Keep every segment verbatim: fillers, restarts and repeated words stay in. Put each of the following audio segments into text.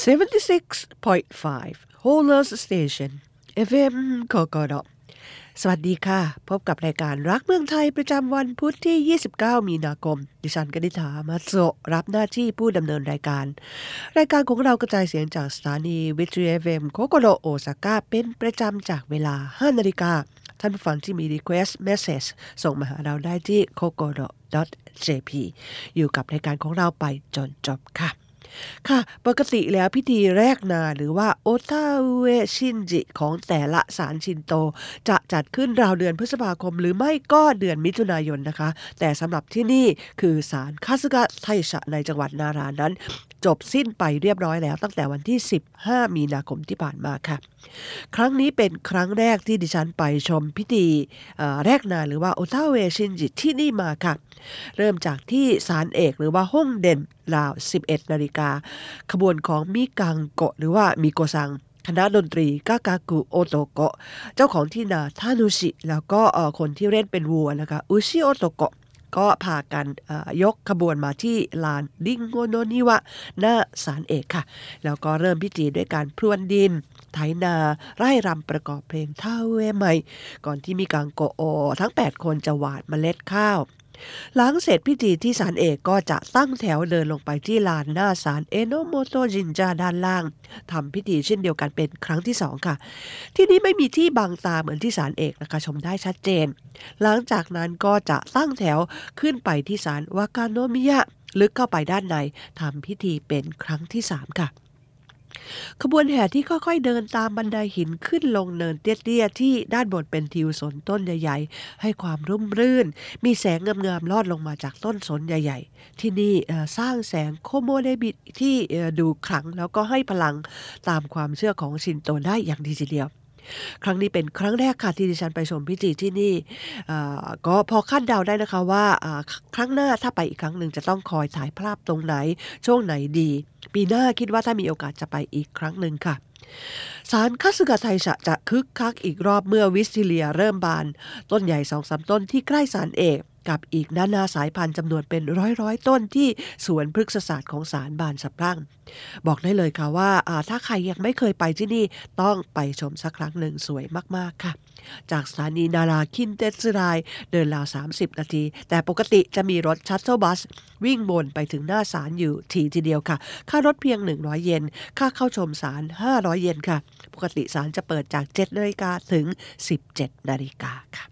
seventy-six point five Holers Station เอฟ เอ็ม กกดสวัสดีค่ะพบกับรายการรักเมืองไทยประจำวันพุธที่ยี่สิบเก้ามีนาคมดิฉันกนิษฐามาโซรับหน้าที่ผู้ดำเนินรายการรายการของเรากระจายเสียงจากสถานีวิทยุ เอฟ เอ็ม โคโกโดโอซาก้าเป็นประจำจากเวลา ห้านาฬิกาท่านผู้ฟังที่มี request message ส่งมาหาเราได้ที่ โคโกโด ดอท เจ พี อยู่กับรายการของเราไปจนจบค่ะค่ะปกติแล้วพิธีแรกนาหรือว่าโอตาอุเอชินจิของแต่ละศาลชินโตจะจัดขึ้นราวเดือนพฤษภาคมหรือไม่ก็เดือนมิถุนายนนะคะแต่สำหรับที่นี่คือศาลคาสึกะไทชะในจังหวัดนารานั้นจบสิ้นไปเรียบร้อยแล้วตั้งแต่วันที่สิบห้ามีนาคมที่ผ่านมาค่ะครั้งนี้เป็นครั้งแรกที่ดิฉันไปชมพิธีแรกนาหรือว่าโอตาอุเอชินจิที่นี่มาค่ะเริ่มจากที่ศาลเอกหรือว่าฮ่งเด่นราว สิบเอ็ดนาฬิกาขบวนของมิกังโกะหรือว่ามิโกซังคณะดนตรีกากากุโอโตโกะเจ้าของที่นาทานุชิแล้วก็คนที่เล่นเป็นวัวนะคะอุชิโอโตโกะก็พากันยกขบวนมาที่ลานริงโงโนนิวะหน้าศาลเอกค่ะแล้วก็เริ่มพิธีด้วยการพรวนดินไถนาไร่รำประกอบเพลงท่าเวใหม่ก่อนที่มิกังโกะทั้งแปดคนจะหว่านเมล็ดข้าวหลังเสร็จพิธีที่ศาลเอกก็จะตั้งแถวเดินลงไปที่ลานหน้าศาลเอโนโมโตจินจาด้านล่างทำพิธีเช่นเดียวกันเป็นครั้งที่สองค่ะที่นี้ไม่มีที่บังตาเหมือนที่ศาลเอกนะคะชมได้ชัดเจนหลังจากนั้นก็จะตั้งแถวขึ้นไปที่ศาลวากาโนมิยะลึกเข้าไปด้านในทำพิธีเป็นครั้งที่สามค่ะขบวนแห่ที่ค่อยๆเดินตามบันไดหินขึ้นลงเนินเตี้ยๆที่ด้านบนเป็นทิวสนต้นใหญ่ๆให้ความร่มรื่นมีแสงงามๆลอดลงมาจากต้นสนใหญ่ๆที่นี่สร้างแสงโคโมเดบิที่ดูขลังแล้วก็ให้พลังตามความเชื่อของชินโตได้อย่างดีทีเดียวครั้งนี้เป็นครั้งแรกค่ะที่ดิฉันไปชมพิธีที่นี่ก็พอคาดเดาได้นะคะว่าครั้งหน้าถ้าไปอีกครั้งหนึ่งจะต้องคอยถ่ายภาพตรงไหนช่วงไหนดีปีหน้าคิดว่าถ้ามีโอกาสจะไปอีกครั้งหนึ่งค่ะศาลคาสึกะไทชะจะคึกคักอีกรอบเมื่อวิสติเลียเริ่มบานต้นใหญ่ สองสาม ต้นที่ใกล้ศาลเอกกับอีกนานาสายพันธุ์จำนวนเป็นร้อยๆต้นที่สวนพฤกษศาสตร์ของศาลบานสะพรั่งบอกได้เลยค่ะว่าถ้าใครยังไม่เคยไปที่นี่ต้องไปชมสักครั้งหนึ่งสวยมากๆค่ะจากสถานีนาราคินเตสึไรเดินราวสามสิบนาทีแต่ปกติจะมีรถชัตเทิลบัสวิ่งวนไปถึงหน้าศาลอยู่ทีทีเดียวค่ะค่ารถเพียงหนึ่งร้อยเยนค่าเข้าชมศาลห้าร้อยเยนค่ะปกติศาลจะเปิดจากเจ็ดนาฬิกาถึงสิบเจ็ดนาฬิกาค่ะ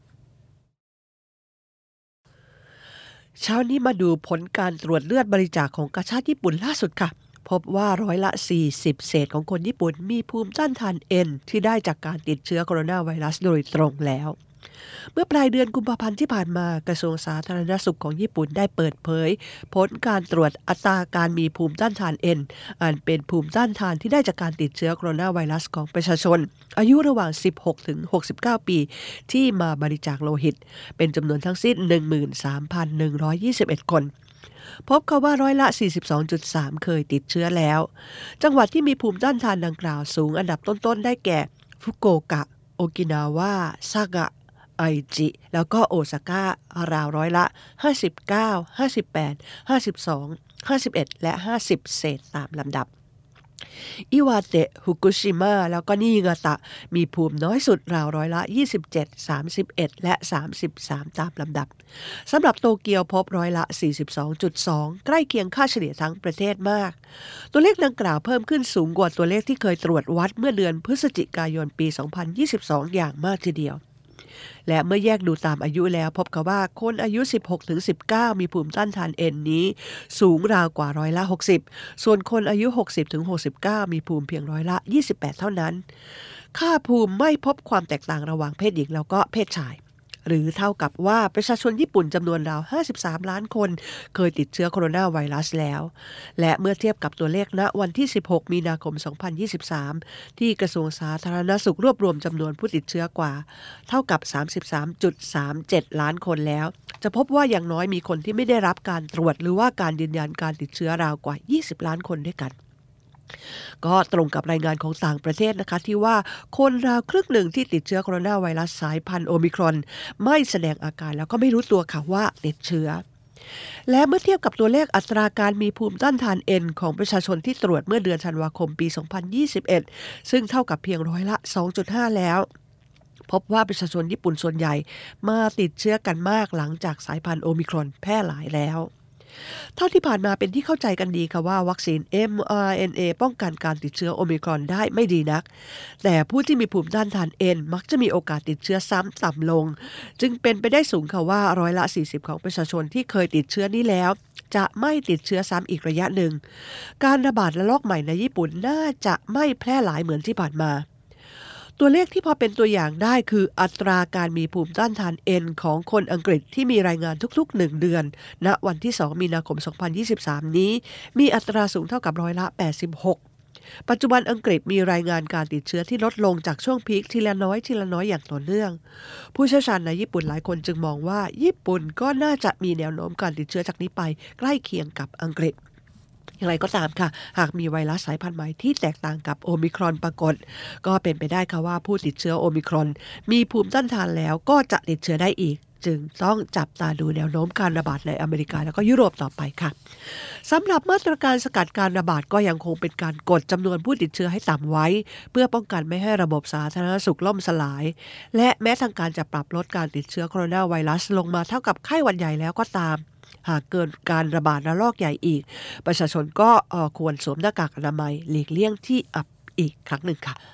เช้านี้มาดูผลการตรวจเลือดบริจาคของกาชาดญี่ปุ่นล่าสุดค่ะพบว่าร้อยละสี่สิบเศษของคนญี่ปุ่นมีภูมิต้านทาน N ที่ได้จากการติดเชื้อโคโรนาไวรัสโดยตรงแล้วเมื่อปลายเดือนกุมภาพันธ์ที่ผ่านมากระทรวงสาธารณสุขของญี่ปุ่นได้เปิดเผยผลการตรวจอัตราการมีภูมิต้านทาน N อันเป็นภูมิต้านทานที่ได้จากการติดเชื้อโคโรนาไวรัสของประชาชนอายุระหว่างสิบหกถึงหกสิบเก้าปีที่มาบริจาคโลหิตเป็นจำนวนทั้งสิ้น หนึ่งหมื่นสามพันหนึ่งร้อยยี่สิบเอ็ด คนพบเขาว่าร้อยละ สี่สิบสองจุดสาม เคยติดเชื้อแล้วจังหวัดที่มีภูมิต้านทานดังกล่าวสูงอันดับต้นๆได้แก่ฟุกุโอกะโอกินาวาซากะไอจิแล้วก็โอซาก้าราวร้อยละห้าสิบเก้า ห้าสิบแปด ห้าสิบสอง ห้าสิบเอ็ดและห้าสิบเศษตามลำดับอิวาเตะฟุกุชิมะแล้วก็นิงาตะมีภูมิน้อยสุดราวร้อยละยี่สิบเจ็ด สามสิบเอ็ดและสามสิบสามตามลำดับสำหรับโตเกียวพบร้อยละ สี่สิบสองจุดสอง ใกล้เคียงค่าเฉลี่ยทั้งประเทศมากตัวเลขดังกล่าวเพิ่มขึ้นสูงกว่าตัวเลขที่เคยตรวจวัดเมื่อเดือนพฤศจิกายนปีสองพันยี่สิบสองอย่างมากทีเดียวและเมื่อแยกดูตามอายุแล้วพบว่าคนอายุ สิบหกถึงสิบเก้า มีภูมิต้านทาน N นี้สูงราวกว่าร้อยละหกสิบส่วนคนอายุ หกสิบถึงหกสิบเก้า มีภูมิเพียงร้อยละยี่สิบแปดเท่านั้นค่าภูมิไม่พบความแตกต่างระหว่างเพศหญิงแล้วก็เพศชายหรือเท่ากับว่าประชาชนญี่ปุ่นจำนวนราวห้าสิบสามล้านคนเคยติดเชื้อโคโรนาไวรัสแล้วและเมื่อเทียบกับตัวเลขณวันที่สิบหกมีนาคมสองพันยี่สิบสามที่กระทรวงสาธารณสุขรวบรวมจำนวนผู้ติดเชื้อกว่าเท่ากับ สามสิบสามจุดสามเจ็ด ล้านคนแล้วจะพบว่าอย่างน้อยมีคนที่ไม่ได้รับการตรวจหรือว่าการยืนยันการติดเชื้อราวกว่ายี่สิบล้านคนด้วยกันก็ตรงกับรายงานของต่างประเทศนะคะที่ว่าคนราวครึ่งหนึ่งที่ติดเชื้อโคโรนาไวรัสสายพันธุ์โอมิครอนไม่แสดงอาการแล้วก็ไม่รู้ตัวค่ะว่าติดเชื้อและเมื่อเทียบกับตัวเลขอัตราการมีภูมิต้านทาน N ของประชาชนที่ตรวจเมื่อเดือนธันวาคมปี สองพันยี่สิบเอ็ด ซึ่งเท่ากับเพียงร้อยละ สองจุดห้า แล้วพบว่าประชาชนญี่ปุ่นส่วนใหญ่มาติดเชื้อกันมากหลังจากสายพันธุ์โอมิครอนแพร่หลายแล้วเท่าที่ผ่านมาเป็นที่เข้าใจกันดีค่ะว่าวัคซีน เอ็ม อาร์ เอ็น เอ ป้องกันการติดเชื้อโอมิครอนได้ไม่ดีนักแต่ผู้ที่มีภูมิต้านทาน N มักจะมีโอกาสติดเชื้อซ้ำต่ำลงจึงเป็นไปได้สูงค่ะว่าร้อยละ สี่สิบ ของประชาชนที่เคยติดเชื้อนี้แล้วจะไม่ติดเชื้อซ้ำอีกระยะหนึ่งการระบาดระลอกใหม่ในญี่ปุ่นน่าจะไม่แพร่หลายเหมือนที่ผ่านมาตัวเลขที่พอเป็นตัวอย่างได้คืออัตราการมีภูมิต้านทาน N ของคนอังกฤษที่มีรายงานทุกๆหนึ่งเดือนณวันที่สองมีนาคมสองพันยี่สิบสามนี้มีอัตราสูงเท่ากับร้อยละแปดสิบหกปัจจุบันอังกฤษมีรายงานการติดเชื้อที่ลดลงจากช่วงพีคทีละน้อยทีละน้อยอย่างต่อเนื่องผู้เชี่ยวชาญในญี่ปุ่นหลายคนจึงมองว่าญี่ปุ่นก็น่าจะมีแนวโน้มการติดเชื้อจากนี้ไปใกล้เคียงกับอังกฤษอย่างไรก็ตามค่ะหากมีไวรัสสายพันธุ์ใหม่ที่แตกต่างกับโอมิครอนปรากฏก็เป็นไปได้ค่ะว่าผู้ติดเชื้อโอมิครอนมีภูมิต้านทานแล้วก็จะติดเชื้อได้อีกจึงต้องจับตาดูแนวโน้มการระบาดในอเมริกาแล้วก็ยุโรปต่อไปค่ะสำหรับมาตรการสกัดการระบาดก็ยังคงเป็นการกดจำนวนผู้ติดเชื้อให้ต่ำไว้เพื่อป้องกันไม่ให้ระบบสาธารณสุขล่มสลายและแม้ทางการจะปรับลดการติดเชื้อโคโรนาไวรัสลงมาเท่ากับไข้หวัดใหญ่แล้วก็ตามหากเกิดการระบาดระลอกใหญ่อีกประชาชนก็ควรสวมหน้ากากอนามัยหลีกเลี่ยงที่อับอีกครั้งหนึ่งค่ะ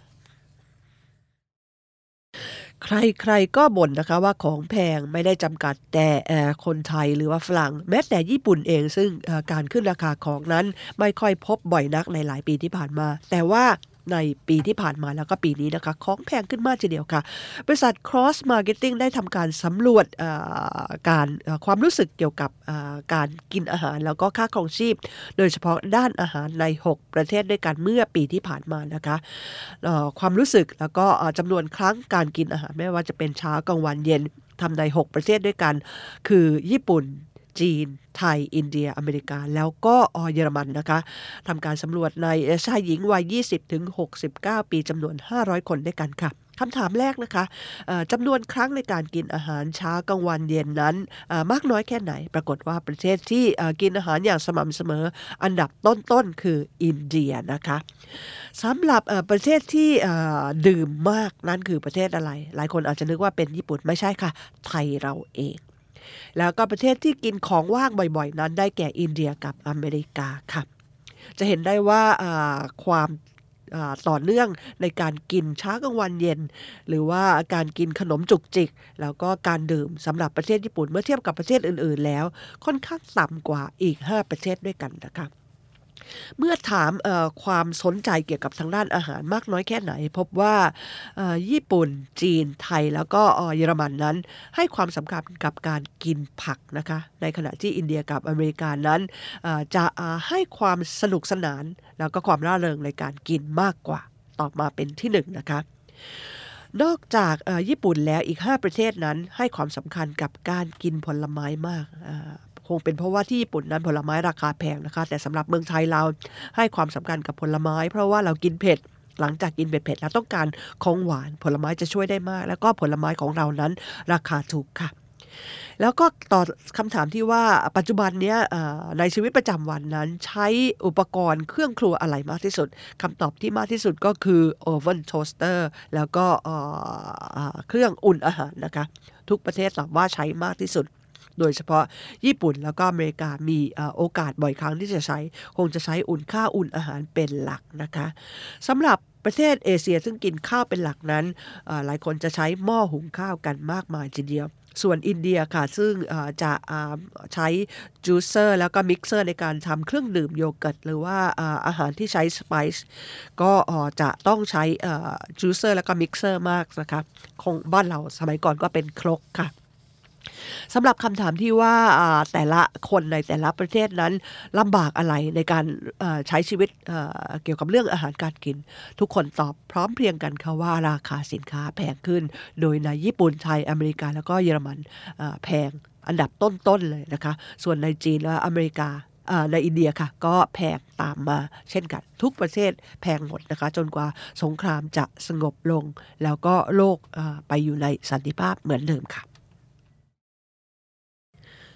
ใครๆก็บ่นนะคะว่าของแพงไม่ได้จำกัดแต่คนไทยหรือว่าฝรั่งแม้แต่ญี่ปุ่นเองซึ่งการขึ้นราคาของนั้นไม่ค่อยพบบ่อยนักในหลายปีที่ผ่านมาแต่ว่าในปีที่ผ่านมาแล้วก็ปีนี้นะคะของแพงขึ้นมากทีเดียวค่ะบริษัท Cross Marketing ได้ทำการสำรวจการความรู้สึกเกี่ยวกับการกินอาหารแล้วก็ค่าครองชีพโดยเฉพาะด้านอาหารในหกประเทศด้วยกันเมื่อปีที่ผ่านมานะคะความรู้สึกแล้วก็จำนวนครั้งการกินอาหารไม่ว่าจะเป็นเช้ากลางวันเย็นทำในหกประเทศด้วยกันคือญี่ปุ่นจีนไทยอินเดียอเมริกาแล้วก็เยอรมันนะคะทำการสำรวจในชายหญิงวัย ยี่สิบถึงหกสิบเก้า ปีจำนวนห้าร้อยคนด้วยกันค่ะคำถามแรกนะคะจำนวนครั้งในการกินอาหารเช้ากลางวันเย็นนั้นมากน้อยแค่ไหนปรากฏว่าประเทศที่กินอาหารอย่างสม่ำเสมออันดับต้นๆคืออินเดียนะคะสำหรับประเทศที่ดื่มมากนั่นคือประเทศอะไรหลายคนอาจจะนึกว่าเป็นญี่ปุ่นไม่ใช่ค่ะไทยเราเองแล้วก็ประเทศที่กินของว่างบ่อยๆนั้นได้แก่อินเดียกับอเมริกาค่ะจะเห็นได้ว่าความต่อเนื่องในการกินเช้ากลางวันเย็นหรือว่าการกินขนมจุกจิกแล้วก็การดื่มสำหรับประเทศญี่ปุ่นเมื่อเทียบกับประเทศอื่นๆแล้วค่อนข้างต่ำกว่าอีกห้าประเทศด้วยกันนะคะเมื่อถามความสนใจเกี่ยวกับทางด้านอาหารมากน้อยแค่ไหนพบว่าญี่ปุ่นจีนไทยแล้วก็เยอรมันนั้นให้ความสำคัญกับการกินผักนะคะในขณะที่อินเดียกับอเมริกานั้นจะให้ความสนุกสนานแล้วก็ความร่าเริงในการกินมากกว่าต่อมาเป็นที่หนึ่งนะคะนอกจากญี่ปุ่นแล้วอีกห้าประเทศนั้นให้ความสำคัญกับการกินผลไม้มากคงเป็นเพราะว่าที่ญี่ปุ่นนั้นผลไม้ราคาแพงนะคะแต่สำหรับเมืองไทยเราให้ความสำคัญกับผลไม้เพราะว่าเรากินเผ็ดหลังจากกินเผ็ดๆแล้วต้องการของหวานผลไม้จะช่วยได้มากแล้วก็ผลไม้ของเรานั้นราคาถูกค่ะแล้วก็ต่อคำถามที่ว่าปัจจุบันนี้ในชีวิตประจำวันนั้นใช้อุปกรณ์เครื่องครัวอะไรมากที่สุดคำตอบที่มากที่สุดก็คือโอเว่นโทสเตอร์แล้วก็เครื่องอุ่นอาหารนะคะทุกประเทศตอบว่าใช้มากที่สุดโดยเฉพาะญี่ปุ่นแล้วก็อเมริกามีโอกาสบ่อยครั้งที่จะใช้คงจะใช้อุ่นข้าวอุ่นอาหารเป็นหลักนะคะสำหรับประเทศเอเชียซึ่งกินข้าวเป็นหลักนั้นหลายคนจะใช้หม้อหุงข้าวกันมากมายทีเดียวส่วนอินเดียค่ะซึ่งจะใช้จูเซอร์แล้วก็มิกเซอร์ในการทำเครื่องดื่มโยเกิร์ตหรือว่าอาหารที่ใช้สไปซ์ก็จะต้องใช้จูเซอร์แล้วก็มิกเซอร์มากนะคะคงบ้านเราสมัยก่อนก็เป็นครกค่ะสำหรับคำถามที่ว่าแต่ละคนในแต่ละประเทศนั้นลำบากอะไรในการใช้ชีวิตเกี่ยวกับเรื่องอาหารการกินทุกคนตอบพร้อมเพรียงกันค่ะว่าราคาสินค้าแพงขึ้นโดยในญี่ปุ่นไทยอเมริกาแล้วก็เยอรมันแพงอันดับต้นๆเลยนะคะส่วนในจีนและอเมริกาในอินเดียค่ะก็แพงตามมาเช่นกันทุกประเทศแพงหมดนะคะจนกว่าสงครามจะสงบลงแล้วก็โลกไปอยู่ในสันติภาพเหมือนเดิมค่ะ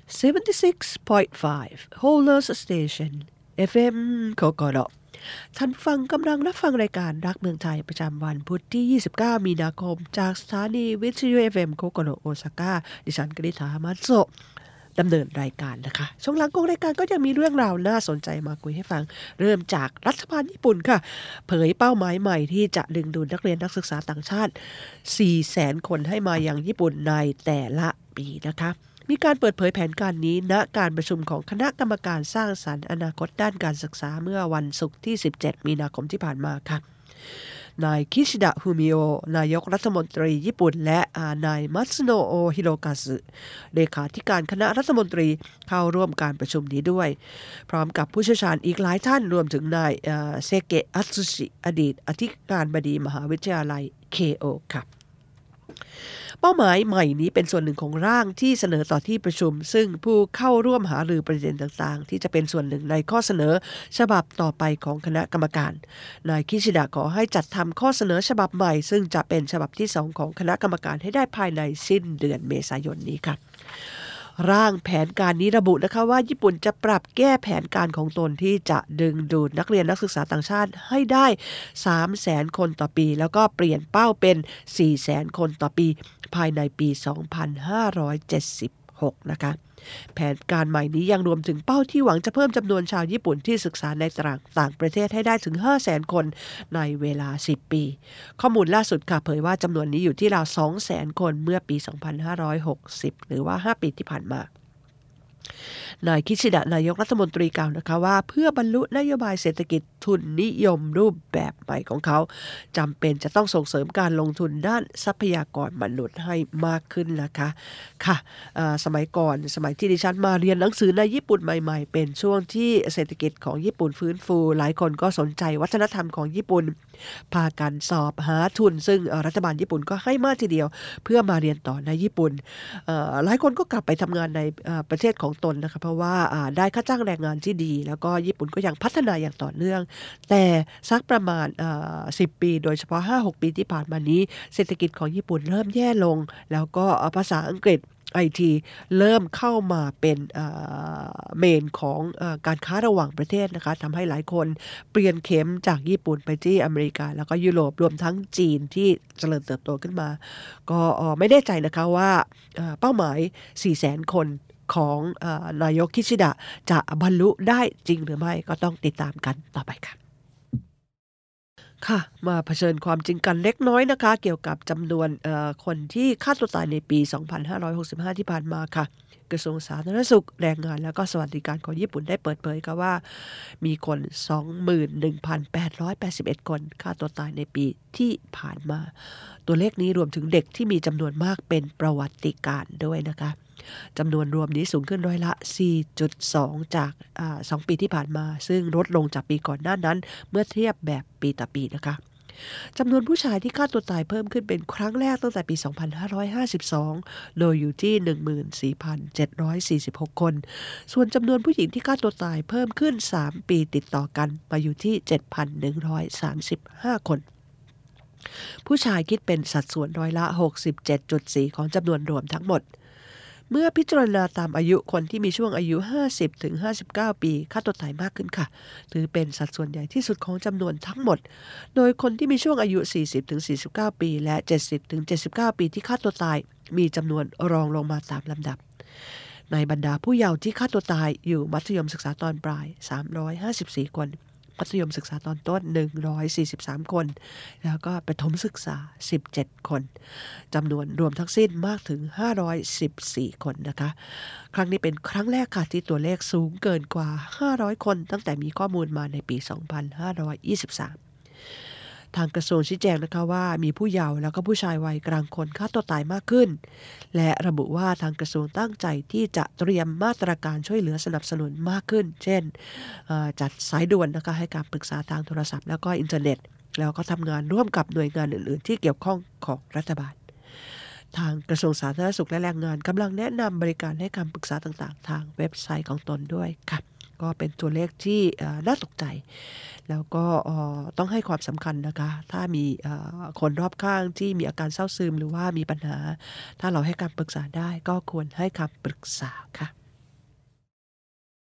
seventy-six point five Holders Station เอฟ เอ็ม Kokoro ท่านฟังกำลังรับฟังรายการรักเมืองไทยประจำวันพุธที่ยี่สิบเก้ามีนาคมจากสถานีวิทยุ เอฟ เอ็ม Kokoro โอซาก้าดิฉันกฤษฐามัตโซะดำเนินรายการนะคะช่วงหลังของรายการก็ยังมีเรื่องราวน่าสนใจมาคุยให้ฟังเริ่มจากรัฐบาลญี่ปุ่นค่ะเผยเป้าหมายใหม่ที่จะดึงดูดนักเรียนนักศึกษาต่างชาติ สี่แสน คนให้มายังญี่ปุ่นในแต่ละปีนะคะมีการเปิดเผยแผนการนี้ณการประชุมของคณะกรรมการสร้างสรรค์อนาคตด้านการศึกษาเมื่อวันศุกร์ที่สิบเจ็ดมีนาคมที่ผ่านมาค่ะนายคิชิดะฟูมิโอนายกรัฐมนตรีญี่ปุ่นและนายมัตสึโนะโอฮิโรกาสึเลขาธิการคณะรัฐมนตรีเข้าร่วมการประชุมนี้ด้วยพร้อมกับผู้เชี่ยวชาญอีกหลายท่านรวมถึงนายเซเกะอัตสึชิอดีตอธิการบดีมหาวิทยาลัยเคโอค่ะเป้าหมายใหม่นี้เป็นส่วนหนึ่งของร่างที่เสนอต่อที่ประชุมซึ่งผู้เข้าร่วมหารือประเด็นต่างๆที่จะเป็นส่วนหนึ่งในข้อเสนอฉบับต่อไปของคณะกรรมการนายคิชิดะขอให้จัดทำข้อเสนอฉบับใหม่ซึ่งจะเป็นฉบับที่สองของคณะกรรมการให้ได้ภายในสิ้นเดือนเมษายนนี้ค่ะร่างแผนการนี้ระบุนะคะว่าญี่ปุ่นจะปรับแก้แผนการของตนที่จะดึงดูดนักเรียนนักศึกษาต่างชาติให้ได้ สามแสน คนต่อปีแล้วก็เปลี่ยนเป้าเป็น สี่แสน คนต่อปีภายในปี สองพันห้าร้อยเจ็ดสิบหก นะคะแผนการใหม่นี้ยังรวมถึงเป้าที่หวังจะเพิ่มจำนวนชาวญี่ปุ่นที่ศึกษาในต่างประเทศให้ได้ถึง ห้าแสน คนในเวลาสิบปีข้อมูลล่าสุดค่ะเผยว่าจำนวนนี้อยู่ที่ราว สองแสน คนเมื่อปี สองพันห้าร้อยหกสิบ หรือว่า ห้า ปีที่ผ่านมานายคิชิดะนายกรัฐมนตรีกล่าวนะคะว่าเพื่อบรรลุนโยบายเศรษฐกิจทุนนิยมรูปแบบใหม่ของเขาจำเป็นจะต้องส่งเสริมการลงทุนด้านทรัพยากรมนุษย์ให้มากขึ้นนะคะค่ะสมัยก่อนสมัยที่ดิฉันมาเรียนหนังสือในญี่ปุ่นใหม่ๆเป็นช่วงที่เศรษฐกิจของญี่ปุ่นฟื้นฟูหลายคนก็สนใจวัฒนธรรมของญี่ปุ่นพากันสอบหาทุนซึ่งรัฐบาลญี่ปุ่นก็ให้มากทีเดียวเพื่อมาเรียนต่อในญี่ปุ่นหลายคนก็กลับไปทำงานในประเทศของตนนะคะเพราะว่าได้ค่าจ้างแรงงานที่ดีแล้วก็ญี่ปุ่นก็ยังพัฒนาอย่างต่อเนื่องแต่สักประมาณสิบปีโดยเฉพาะ ห้าหก ปีที่ผ่านมานี้เศรษฐกิจของญี่ปุ่นเริ่มแย่ลงแล้วก็ภาษาอังกฤษไอ ที เริ่มเข้ามาเป็นเมนของการค้าระหว่างประเทศนะคะทำให้หลายคนเปลี่ยนเข็มจากญี่ปุ่นไปที่อเมริกาแล้วก็ยุโรปรวมทั้งจีนที่เจริญเติบโตขึ้นมาก็ไม่แน่ใจนะคะว่าเป้าหมาย สี่แสน คนของนายกคิชิดะจะบรรลุได้จริงหรือไม่ก็ต้องติดตามกันต่อไปค่ะค่ะมาเผชิญความจริงกันเล็กน้อยนะคะเกี่ยวกับจำนวนคนที่ฆ่าตัวตายในปี สองพันห้าร้อยหกสิบห้า ที่ผ่านมาค่ะกระทรวงสาธารณสุขแรงงานและก็สวัสดิการของญี่ปุ่นได้เปิดเผยค่ะว่ามีคน สองหมื่นหนึ่งพันแปดร้อยแปดสิบเอ็ด คนฆ่าตัวตายในปีที่ผ่านมาตัวเลขนี้รวมถึงเด็กที่มีจำนวนมากเป็นประวัติการณ์ด้วยนะคะจำนวนรวมนี้สูงขึ้นร้อยละ สี่จุดสอง จากสองปีที่ผ่านมาซึ่งลดลงจากปีก่อนหน้านั้นเมื่อเทียบแบบปีต่อปีนะคะจำนวนผู้ชายที่ฆ่าตัวตายเพิ่มขึ้นเป็นครั้งแรกตั้งแต่ปี สองพันห้าร้อยห้าสิบสอง โดยอยู่ที่ หนึ่งหมื่นสี่พันเจ็ดร้อยสี่สิบหก คนส่วนจำนวนผู้หญิงที่ฆ่าตัวตายเพิ่มขึ้นสามปีติดต่อกันมาอยู่ที่ เจ็ดพันหนึ่งร้อยสามสิบห้า คนผู้ชายคิดเป็นสัดส่วนร้อยละ หกสิบเจ็ดจุดสี่ ของจำนวนรวมทั้งหมดเมื่อพิจารณาตามอายุคนที่มีช่วงอายุ ห้าสิบถึงห้าสิบเก้า ปีฆ่าตัวตายมากขึ้นค่ะถือเป็นสัดส่วนใหญ่ที่สุดของจำนวนทั้งหมดโดยคนที่มีช่วงอายุ สี่สิบถึงสี่สิบเก้า ปีและ เจ็ดสิบถึงเจ็ดสิบเก้า ปีที่ฆ่าตัวตายมีจำนวนรองลงมาตามลำดับในบรรดาผู้เยาว์ที่ฆ่าตัวตายอยู่มัธยมศึกษาตอนปลายสามร้อยห้าสิบสี่คนมัธยมศึกษาตอนต้นหนึ่งร้อยสี่สิบสามคนแล้วก็ประถมศึกษาสิบเจ็ดคนจำนวนรวมทั้งสิ้นมากถึงห้าร้อยสิบสี่คนนะคะครั้งนี้เป็นครั้งแรกค่ะที่ตัวเลขสูงเกินกว่าห้าร้อยคนตั้งแต่มีข้อมูลมาในปีสองพันห้าร้อยยี่สิบสามทางกระทรวงชี้แจงนะคะว่ามีผู้เยาว์แล้วก็ผู้ชายวัยกลางคนฆ่าตัวตายมากขึ้นและระบุว่าทางกระทรวงตั้งใจที่จะเตรียมมาตรการช่วยเหลือสนับสนุนมากขึ้นเช่นจัดสายด่วนนะคะให้การปรึกษาทางโทรศัพท์แล้วก็อินเทอร์เน็ตแล้วก็ทำงานร่วมกับหน่วยงานอื่นๆที่เกี่ยวข้องของรัฐบาลทางกระทรวงสาธารณสุขและแรงงานกำลังแนะนำบริการให้คำปรึกษาต่างๆทางเว็บไซต์ของตนด้วยค่ะก็เป็นตัวเลขที่น่าตกใจแล้วก็ต้องให้ความสำคัญนะคะถ้ามีคนรอบข้างที่มีอาการเศร้าซึมหรือว่ามีปัญหาถ้าเราให้คำปรึกษาได้ก็ควรให้คำปรึกษาค่ะ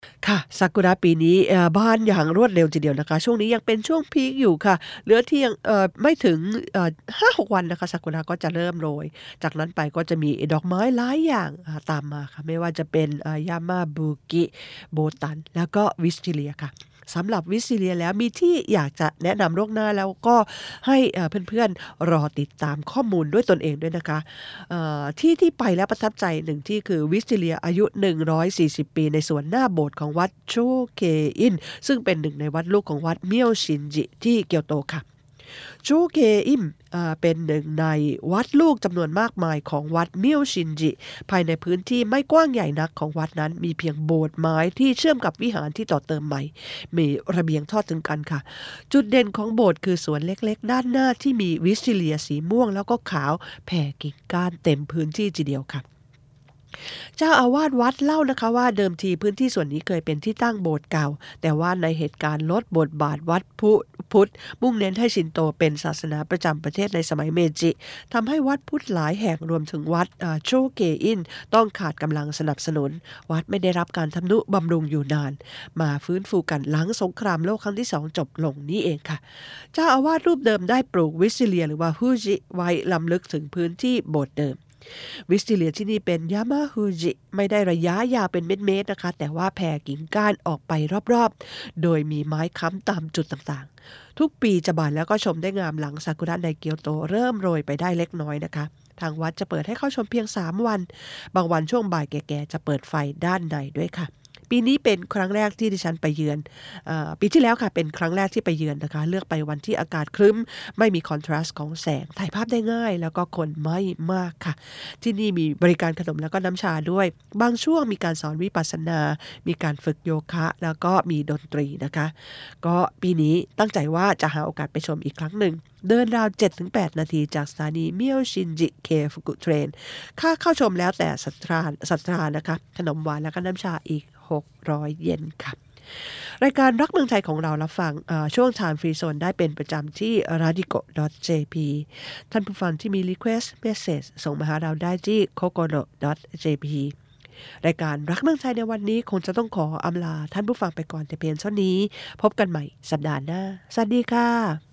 ค่ะซากุระปีนี้เอ่อบานอย่างรวดเร็วทีเดียวนะคะช่วงนี้ยังเป็นช่วงพีกอยู่ค่ะเหลือเที่ยงเอ่อไม่ถึงเอ่อห้าถึงหกวันนะคะซากุระก็จะเริ่มโรยจากนั้นไปก็จะมีดอกไม้หลายอย่างอ่าตามมาค่ะไม่ว่าจะเป็นเอ่อยามาบุกิโบตันแล้วก็วิสติเลียค่ะสำหรับวิสติเลียแล้วมีที่อยากจะแนะนำล่วงหน้าแล้วก็ให้เอ่อเพื่อนๆรอติดตามข้อมูลด้วยตนเองด้วยนะคะ เอ่อที่ที่ไปแล้วประทับใจหนึ่งที่คือวิสติเลียอายุหนึ่งร้อยสี่สิบปีในสวนหน้าโบสถ์ของวัดโชเกอินซึ่งเป็นหนึ่งในวัดลูกของวัดเมียวชินจิที่เกียวโตค่ะโชเกอิมเอ่อเป็นหนึ่งในวัดลูกจำนวนมากมายของวัดเมียวชินจิภายในพื้นที่ไม่กว้างใหญ่นักของวัดนั้นมีเพียงโบสถ์ไม้ที่เชื่อมกับวิหารที่ต่อเติมใหม่มีระเบียงทอดถึงกันค่ะจุดเด่นของโบสถ์คือสวนเล็กๆด้านหน้าที่มีวิสติเลียสีม่วงแล้วก็ขาวแผ่กิ่งก้านเต็มพื้นที่ทีเดียวค่ะ เจ้าอาวาสวัดเล่านะคะว่าเดิมทีพื้นที่ส่วนนี้เคยเป็นที่ตั้งโบสถ์เก่าแต่ว่าในเหตุการณ์ลดบทบาทวัดพุพุทธมุ่งเน้นให้ชินโตเป็นศาสนาประจำประเทศในสมัยเมจิทำให้วัดพุทธหลายแห่งรวมถึงวัดอ่าโชเกอินต้องขาดกำลังสนับสนุนวัดไม่ได้รับการทำนุบำรุงอยู่นานมาฟื้นฟูกันหลังสงครามโลกครั้งที่สองจบลงนี่เองค่ะเจ้าอาวาสรูปเดิมได้ปลูกวิสติเลียหรือว่าฮูจิไว้ล้ำลึกถึงพื้นที่โบสถ์เดิม วิสติเลียที่นี่เป็นยามาฮูจิไม่ได้ระยะยาวเป็นเม็ดๆนะคะแต่ว่าแผ่กิ่งก้านออกไปรอบๆโดยมีไม้ค้ำตามจุดต่างๆทุกปีจะบานแล้วก็ชมได้งามหลังซากุระในเกียวโตเริ่มโรยไปได้เล็กน้อยนะคะทางวัดจะเปิดให้เข้าชมเพียงสามวันบางวันช่วงบ่ายแก่ๆจะเปิดไฟด้านในด้วยค่ะปีนี้เป็นครั้งแรกที่ดิฉันไปเยือนเออปีที่แล้วค่ะเป็นครั้งแรกที่ไปเยือนนะคะเลือกไปวันที่อากาศครึ้มไม่มีคอนทราสต์ของแสงถ่ายภาพได้ง่ายแล้วก็คนไม่มากค่ะ ที่นี่มีบริการขนมแล้วก็น้ำชาด้วย บางช่วงมีการสอนวิปัสสนา มีการฝึกโยคะ แล้วก็มีดนตรีนะคะ ก็ปีนี้ตั้งใจว่าจะหาโอกาสไปชมอีกครั้งหนึ่ง เดินราว เจ็ดถึงแปด นาทีจากสถานีเมียวชินจิเคฟุกุเทรน ค่าเข้าชมแล้วแต่ศรัทธาศรัทธานะคะ ขนมหวานแล้วก็น้ำชาอีก หกร้อย เยนค่ะ รายการรักเมืองไทยของเรารับฟังเอ่อช่วง Time Free Zone ได้เป็นประจำที่ radico ดอท เจ พี ท่านผู้ฟังที่มี Request Message ส่งมาหาเราได้ที่ kokoro ดอท เจ พี รายการรักเมืองไทยในวันนี้คงจะต้องขออำลาท่านผู้ฟังไปก่อนแต่เพียงเท่านี้พบกันใหม่สัปดาห์หน้าสวัสดีค่ะ